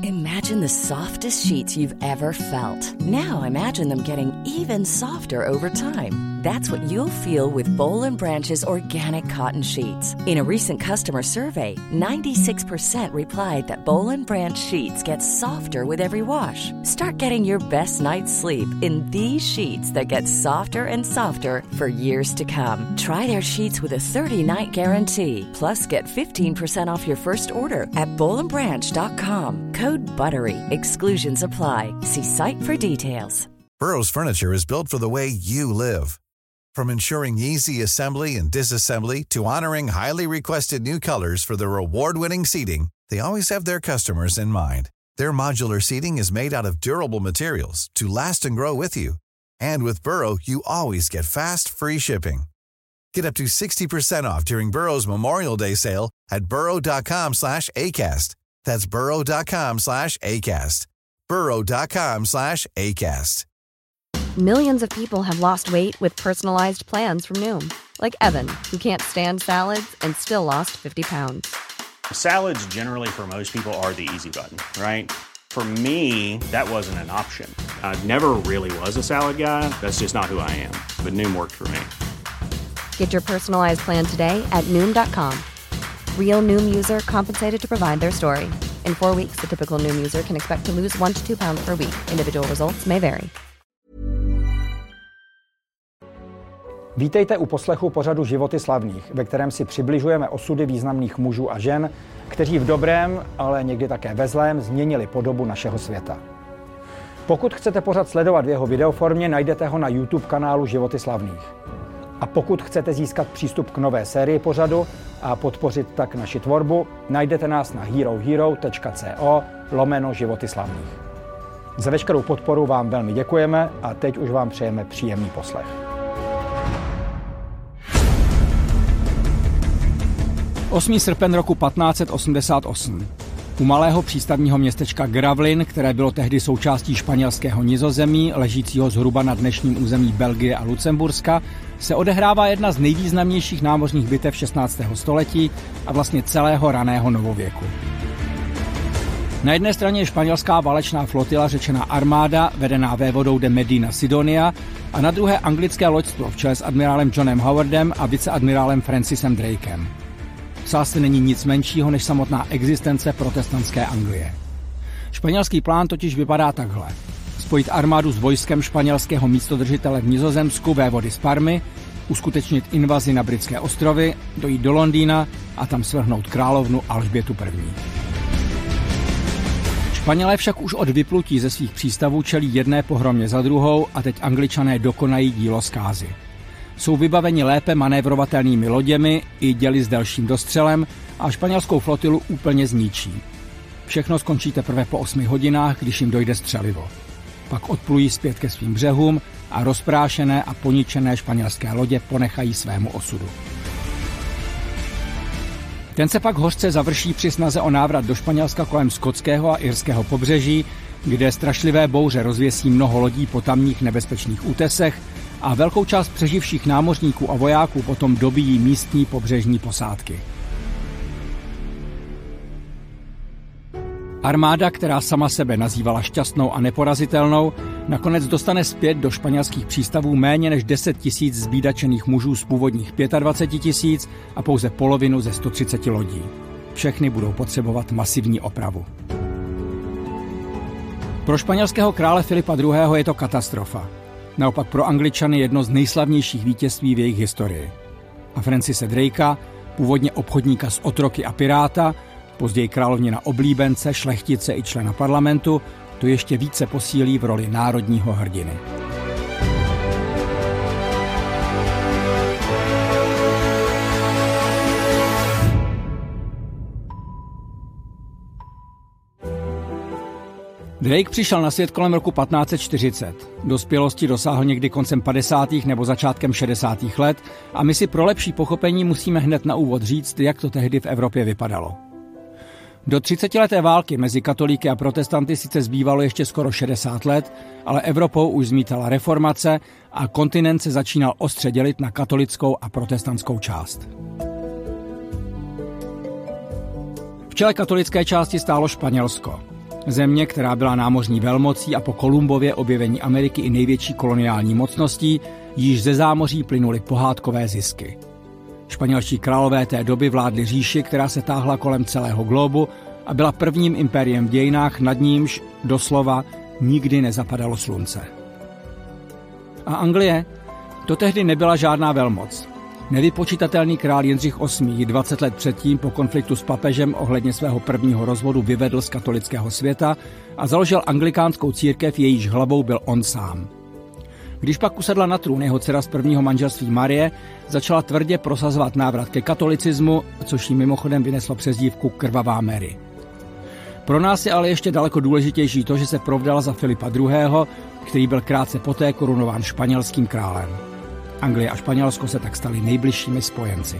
Imagine the softest sheets you've ever felt. Now imagine them getting even softer over time. That's what you'll feel with Boll & Branch's organic cotton sheets. In a recent customer survey, 96% replied that Boll & Branch sheets get softer with every wash. Start getting your best night's sleep in these sheets that get softer and softer for years to come. Try their sheets with a 30-night guarantee. Plus, get 15% off your first order at bollandbranch.com. Code BUTTERY. Exclusions apply. See site for details. Burrow's furniture is built for the way you live. From ensuring easy assembly and disassembly to honoring highly requested new colors for their award-winning seating, they always have their customers in mind. Their modular seating is made out of durable materials to last and grow with you. And with Burrow, you always get fast, free shipping. Get up to 60% off during Burrow's Memorial Day sale at burrow.com/ACAST. That's burrow.com/ACAST. burrow.com/ACAST. Millions of people have lost weight with personalized plans from Noom. Like Evan, who can't stand salads and still lost 50 pounds. Salads generally for most people are the easy button, right? For me, that wasn't an option. I never really was a salad guy. That's just not who I am. But Noom worked for me. Get your personalized plan today at Noom.com. Real Noom user compensated to provide their story. In 4 weeks, the typical Noom user can expect to lose 1 to 2 pounds per week. Individual results may vary. Vítejte u poslechu pořadu Životy slavných, ve kterém si přibližujeme osudy významných mužů a žen, kteří v dobrém, ale někdy také ve zlém změnili podobu našeho světa. Pokud chcete pořad sledovat v jeho videoformě, najdete ho na YouTube kanálu Životy slavných. A pokud chcete získat přístup k nové sérii pořadu a podpořit tak naši tvorbu, najdete nás na herohero.co/Životy slavných. Za veškerou podporu vám velmi děkujeme a teď už vám přejeme příjemný poslech. 8. srpen roku 1588. U malého přístavního městečka Gravelines, které bylo tehdy součástí španělského Nizozemí, ležícího zhruba na dnešním území Belgie a Lucemburska, se odehrává jedna z nejvýznamnějších námořních bitev 16. století a vlastně celého raného novověku. Na jedné straně je španělská válečná flotila řečená armáda, vedená vévodou de Medina Sidonia, a na druhé anglické loďstvo v čele s admirálem Johnem Howardem a viceadmirálem Francisem Drakem. V sázce není nic menšího než samotná existence protestantské Anglie. Španělský plán totiž vypadá takhle. Spojit armádu s vojskem španělského místodržitele v Nizozemsku vévody z Parmy, uskutečnit invazi na Britské ostrovy, dojít do Londýna a tam svrhnout královnu Alžbětu I. Španělé však už od vyplutí ze svých přístavů čelí jedné pohromě za druhou a teď Angličané dokonají dílo zkázy. Jsou vybaveni lépe manévrovatelnými loděmi i děly s delším dostřelem a španělskou flotilu úplně zničí. Všechno skončí teprve po 8 hodinách, když jim dojde střelivo. Pak odplují zpět ke svým břehům a rozprášené a poničené španělské lodě ponechají svému osudu. Ten se pak hořce završí při snaze o návrat do Španělska kolem skotského a irského pobřeží, kde strašlivé bouře rozvěsí mnoho lodí po tamních nebezpečných útesech a velkou část přeživších námořníků a vojáků potom dobíjí místní pobřežní posádky. Armáda, která sama sebe nazývala šťastnou a neporazitelnou, nakonec dostane zpět do španělských přístavů méně než 10 000 zbídačených mužů z původních 25 000 a pouze polovinu ze 130 lodí. Všechny budou potřebovat masivní opravu. Pro španělského krále Filipa II. Je to katastrofa. Naopak pro Angličany jedno z nejslavnějších vítězství v jejich historii. A Francise Drakea, původně obchodníka s otroky a piráta, později královnina oblíbence, šlechtice i člena parlamentu, to ještě více posílí v roli národního hrdiny. Drake přišel na svět kolem roku 1540. Dospělosti dosáhl někdy koncem 50. nebo začátkem 60. let a my si pro lepší pochopení musíme hned na úvod říct, jak to tehdy v Evropě vypadalo. Do 30leté války mezi katolíky a protestanty sice zbývalo ještě skoro 60 let, ale Evropou už zmítala reformace a kontinent se začínal ostře dělit na katolickou a protestantskou část. V čele katolické části stálo Španělsko. Země, která byla námořní velmocí a po Kolumbově objevení Ameriky i největší koloniální mocností, již ze zámoří plynuly pohádkové zisky. Španělští králové té doby vládli říši, která se táhla kolem celého globu a byla prvním impériem v dějinách, nad nímž doslova nikdy nezapadalo slunce. A Anglie? To tehdy nebyla žádná velmoc. Nevypočitatelný král Jindřich VIII 20 let předtím po konfliktu s papežem ohledně svého prvního rozvodu vyvedl z katolického světa a založil anglikánskou církev, jejíž hlavou byl on sám. Když pak usedla na trůn jeho dcera z prvního manželství Marie, začala tvrdě prosazovat návrat ke katolicismu, což jí mimochodem vyneslo přezdívku Krvavá Mary. Pro nás je ale ještě daleko důležitější to, že se provdala za Filipa II., který byl krátce poté korunován španělským králem. Anglie a Španělsko se tak staly nejbližšími spojenci.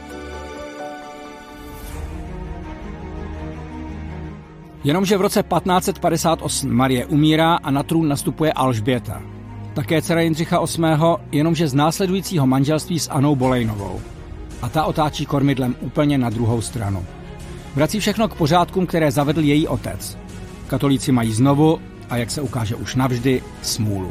Jenomže v roce 1558 Marie umírá a na trůn nastupuje Alžběta. Také dcera Jindřicha VIII, jenomže z následujícího manželství s Annou Bolejnovou. A ta otáčí kormidlem úplně na druhou stranu. Vrací všechno k pořádkům, které zavedl její otec. Katolíci mají znovu, a jak se ukáže už navždy, smůlu.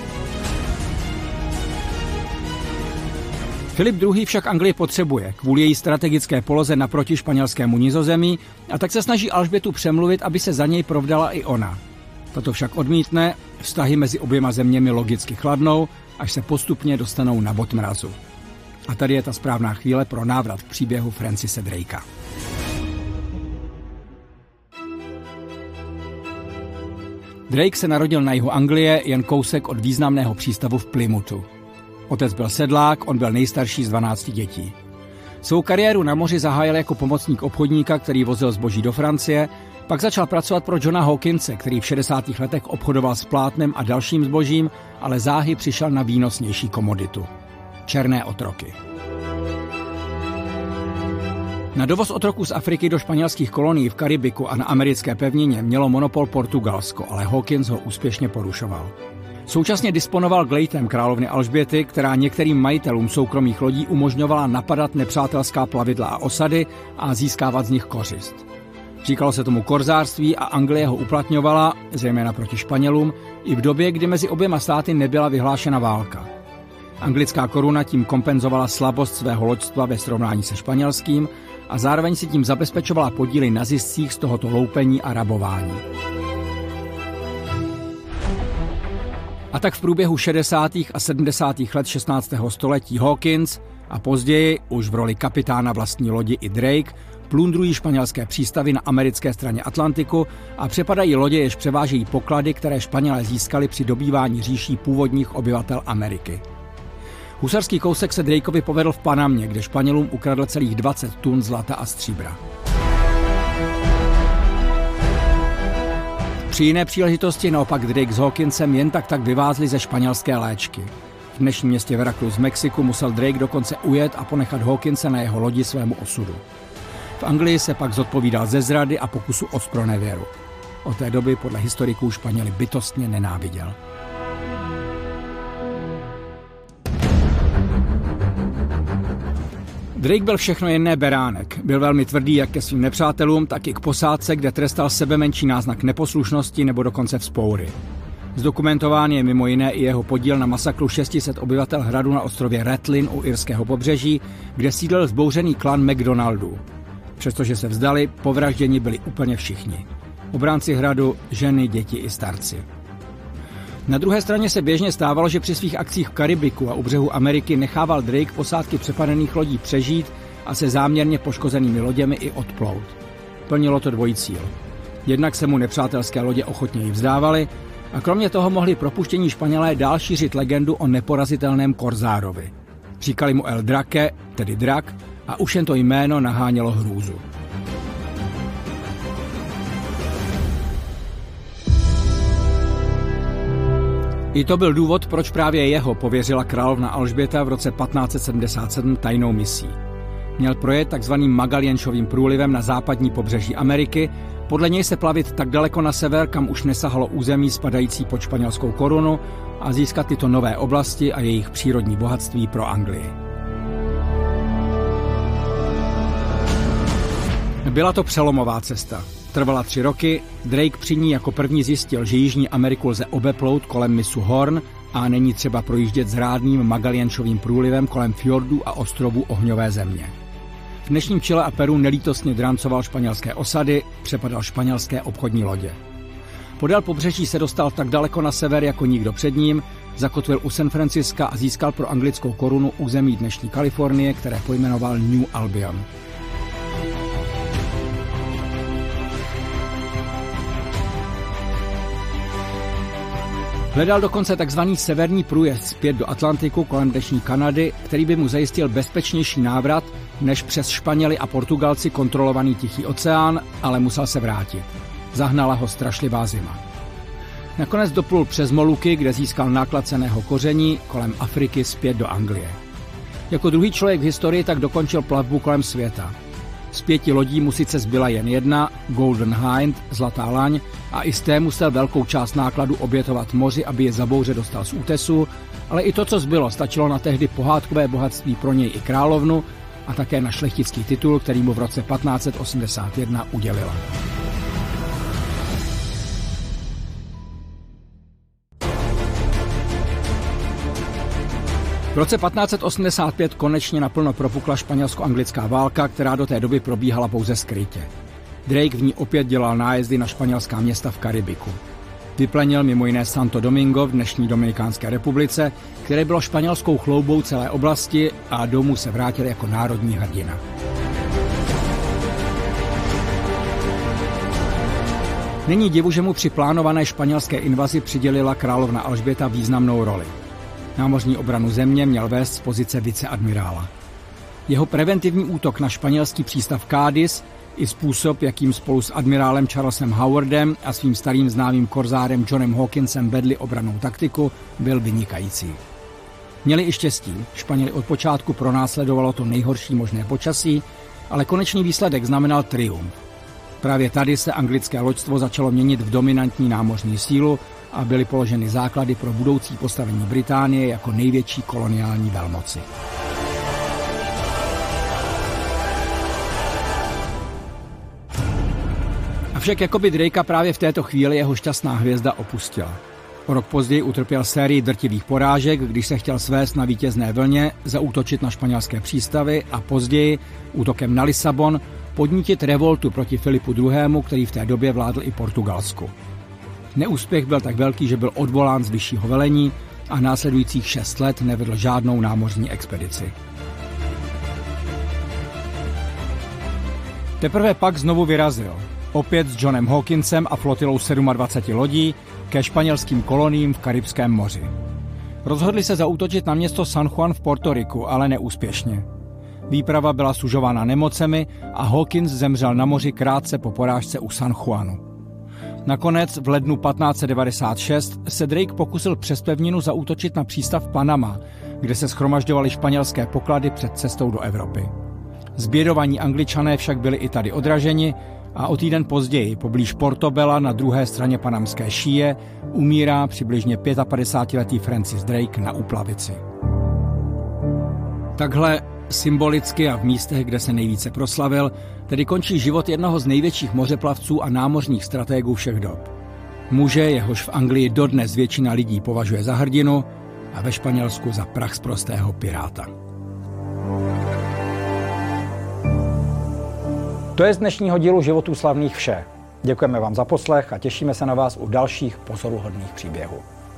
Filip II. Však Anglii potřebuje kvůli její strategické poloze naproti španělskému Nizozemí a tak se snaží Alžbětu přemluvit, aby se za něj provdala i ona. Tato však odmítne, vztahy mezi oběma zeměmi logicky chladnou, až se postupně dostanou na bod mrazu. A tady je ta správná chvíle pro návrat k příběhu Francise Drakea. Drake se narodil na jihu Anglie, jen kousek od významného přístavu v Plymouthu. Otec byl sedlák, on byl nejstarší z 12 dětí. Svou kariéru na moři zahájil jako pomocník obchodníka, který vozil zboží do Francie, pak začal pracovat pro Johna Hawkinse, který v 60. letech obchodoval s plátnem a dalším zbožím, ale záhy přišel na výnosnější komoditu – černé otroky. Na dovoz otroků z Afriky do španělských kolonií v Karibiku a na americké pevnině mělo monopol Portugalsko, ale Hawkins ho úspěšně porušoval. Současně disponoval glejtem královny Alžběty, která některým majitelům soukromých lodí umožňovala napadat nepřátelská plavidla a osady a získávat z nich kořist. Říkalo se tomu korzářství a Anglie ho uplatňovala, zejména proti Španělům, i v době, kdy mezi oběma státy nebyla vyhlášena válka. Anglická koruna tím kompenzovala slabost svého loďstva ve srovnání se španělským a zároveň si tím zabezpečovala podíly na ziscích z tohoto loupení a rabování. A tak v průběhu 60. a 70. let 16. století Hawkins a později už v roli kapitána vlastní lodi i Drake plundrují španělské přístavy na americké straně Atlantiku a přepadají lodě, jež převážejí poklady, které Španělé získali při dobývání říší původních obyvatel Ameriky. Husarský kousek se Drakeovi povedl v Panamě, kde Španělům ukradl celých 20 tun zlata a stříbra. Při jiné příležitosti naopak Drake s Hawkinsem jen tak vyvázli ze španělské léčky. V dnešním městě Veracruz v Mexiku musel Drake dokonce ujet a ponechat Hawkinse na jeho lodi svému osudu. V Anglii se pak zodpovídal ze zrady a pokusu o zpronevěru. Od té doby podle historiků Španěli bytostně nenáviděl. Drake byl všechno jen ne beránek. Byl velmi tvrdý jak ke svým nepřátelům, tak i k posádce, kde trestal sebemenší náznak neposlušnosti nebo dokonce vzpoury. Zdokumentován je mimo jiné i jeho podíl na masakru 600 obyvatel hradu na ostrově Ratlin u irského pobřeží, kde sídlil vzbouřený klan McDonaldů. Přestože se vzdali, povražděni byli úplně všichni. Obránci hradu, ženy, děti i starci. Na druhé straně se běžně stávalo, že při svých akcích v Karibiku a u břehu Ameriky nechával Drake posádky přepadených lodí přežít a se záměrně poškozenými loděmi i odplout. Plnilo to dvojí cíl. Jednak se mu nepřátelské lodě ochotněji vzdávaly a kromě toho mohli propuštění Španělé dál šířit legendu o neporazitelném korzárovi. Říkali mu El Drake, tedy drak, a už jen to jméno nahánělo hrůzu. I to byl důvod, proč právě jeho pověřila královna Alžběta v roce 1577 tajnou misí. Měl projet takzvaným Magallanšovým průlivem na západní pobřeží Ameriky, podle něj se plavit tak daleko na sever, kam už nesahalo území spadající pod španělskou korunu, a získat tyto nové oblasti a jejich přírodní bohatství pro Anglii. Byla to přelomová cesta. Trvala 3 roky, Drake při ní jako první zjistil, že Jižní Ameriku lze obeplout kolem mysu Horn a není třeba projíždět zrádným Magellančovým průlivem kolem fjordů a ostrovů ohňové země. V dnešním Chile a Peru nelítostně drancoval španělské osady, přepadal španělské obchodní lodě. Podél pobřeží se dostal tak daleko na sever jako nikdo před ním, zakotvil u San Franciska a získal pro anglickou korunu území dnešní Kalifornie, které pojmenoval New Albion. Hledal dokonce takzvaný severní průjezd zpět do Atlantiku kolem dnešní Kanady, který by mu zajistil bezpečnější návrat než přes Španěly a Portugalci kontrolovaný Tichý oceán, ale musel se vrátit. Zahnala ho strašlivá zima. Nakonec doplul přes Moluky, kde získal náklad cenného koření, kolem Afriky zpět do Anglie. Jako druhý člověk v historii tak dokončil plavbu kolem světa. Z 5 lodí mu sice zbyla jen jedna, Golden Hind, Zlatá laň, a i z té musel velkou část nákladu obětovat moři, aby je za bouře dostal z útesu, ale i to, co zbylo, stačilo na tehdy pohádkové bohatství pro něj i královnu a také na šlechtický titul, který mu v roce 1581 udělila. V roce 1585 konečně naplno propukla španělsko-anglická válka, která do té doby probíhala pouze skrytě. Drake v ní opět dělal nájezdy na španělská města v Karibiku. Vyplenil mimo jiné Santo Domingo v dnešní Dominikánské republice, které bylo španělskou chloubou celé oblasti, a domů se vrátil jako národní hrdina. Není divu, že mu při plánované španělské invazi přidělila královna Alžběta významnou roli. Námořní obranu země měl vést z pozice viceadmirála. Jeho preventivní útok na španělský přístav Cádiz i způsob, jakým spolu s admirálem Charlesem Howardem a svým starým známým korzárem Johnem Hawkinsem vedli obrannou taktiku, byl vynikající. Měli i štěstí, Španěli od počátku pronásledovalo to nejhorší možné počasí, ale konečný výsledek znamenal triumf. Právě tady se anglické loďstvo začalo měnit v dominantní námořní sílu a byly položeny základy pro budoucí postavení Británie jako největší koloniální velmoci. Avšak jakoby Drakea právě v této chvíli jeho šťastná hvězda opustila. O rok později utrpěl sérii drtivých porážek, když se chtěl svést na vítězné vlně, zaútočit na španělské přístavy a později útokem na Lisabon podnítit revoltu proti Filipu II., který v té době vládl i Portugalsku. Neúspěch byl tak velký, že byl odvolán z vyššího velení a následujících 6 let nevedl žádnou námořní expedici. Teprve pak znovu vyrazil, opět s Johnem Hawkinsem a flotilou 27 lodí, ke španělským koloniím v Karibském moři. Rozhodli se zaútočit na město San Juan v Portoriku, ale neúspěšně. Výprava byla sužována nemocemi a Hawkins zemřel na moři krátce po porážce u San Juanu. Nakonec v lednu 1596 se Drake pokusil přes pevninu zaútočit na přístav Panama, kde se shromažďovaly španělské poklady před cestou do Evropy. Zbědovaní Angličané však byli i tady odraženi a o týden později poblíž Portobela na druhé straně panamské šíje umírá přibližně 55letý Francis Drake na úplavici. Takhle symbolicky a v místech, kde se nejvíce proslavil, tedy končí život jednoho z největších mořeplavců a námořních stratégů všech dob. Muže, jehož v Anglii dodnes většina lidí považuje za hrdinu a ve Španělsku za prachsprostého piráta. To je z dnešního dílu Životů slavných vše. Děkujeme vám za poslech a těšíme se na vás u dalších pozoruhodných příběhů.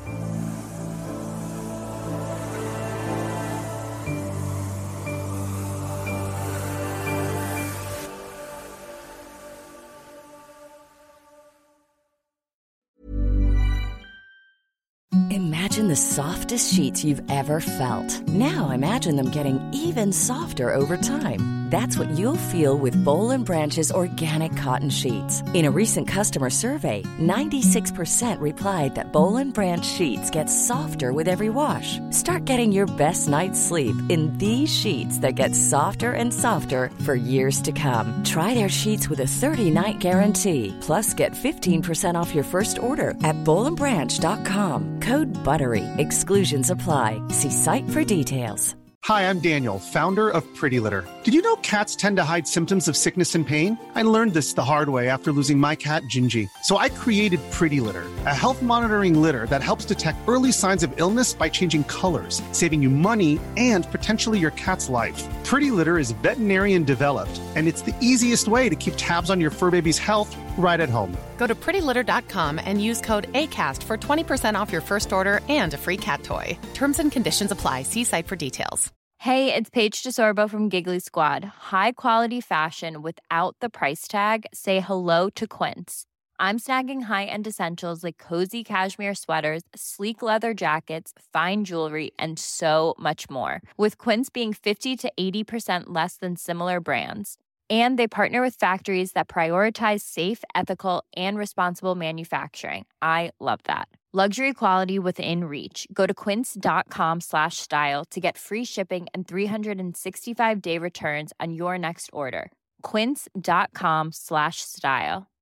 Imagine the softest sheets you've ever felt. Now imagine them getting even softer over time. That's what you'll feel with Boll & Branch's organic cotton sheets. In a recent customer survey, 96% replied that Boll & Branch sheets get softer with every wash. Start getting your best night's sleep in these sheets that get softer and softer for years to come. Try their sheets with a 30-night guarantee. Plus, get 15% off your first order at bollandbranch.com. Code BUTTERY. Exclusions apply. See site for details. Hi, I'm Daniel, founder of Pretty Litter. Did you know cats tend to hide symptoms of sickness and pain? I learned this the hard way after losing my cat, Gingy. So I created Pretty Litter, a health monitoring litter that helps detect early signs of illness by changing colors, saving you money and potentially your cat's life. Pretty Litter is veterinarian developed, and it's the easiest way to keep tabs on your fur baby's health right at home. Go to prettylitter.com and use code ACAST for 20% off your first order and a free cat toy. Terms and conditions apply. See site for details. Hey, it's Paige DeSorbo from Giggly Squad. High quality fashion without the price tag. Say hello to Quince. I'm snagging high-end essentials like cozy cashmere sweaters, sleek leather jackets, fine jewelry, and so much more. With Quince being 50 to 80% less than similar brands. And they partner with factories that prioritize safe, ethical, and responsible manufacturing. I love that. Luxury quality within reach. Go to quince.com/style to get free shipping and 365-day returns on your next order. Quince.com/style.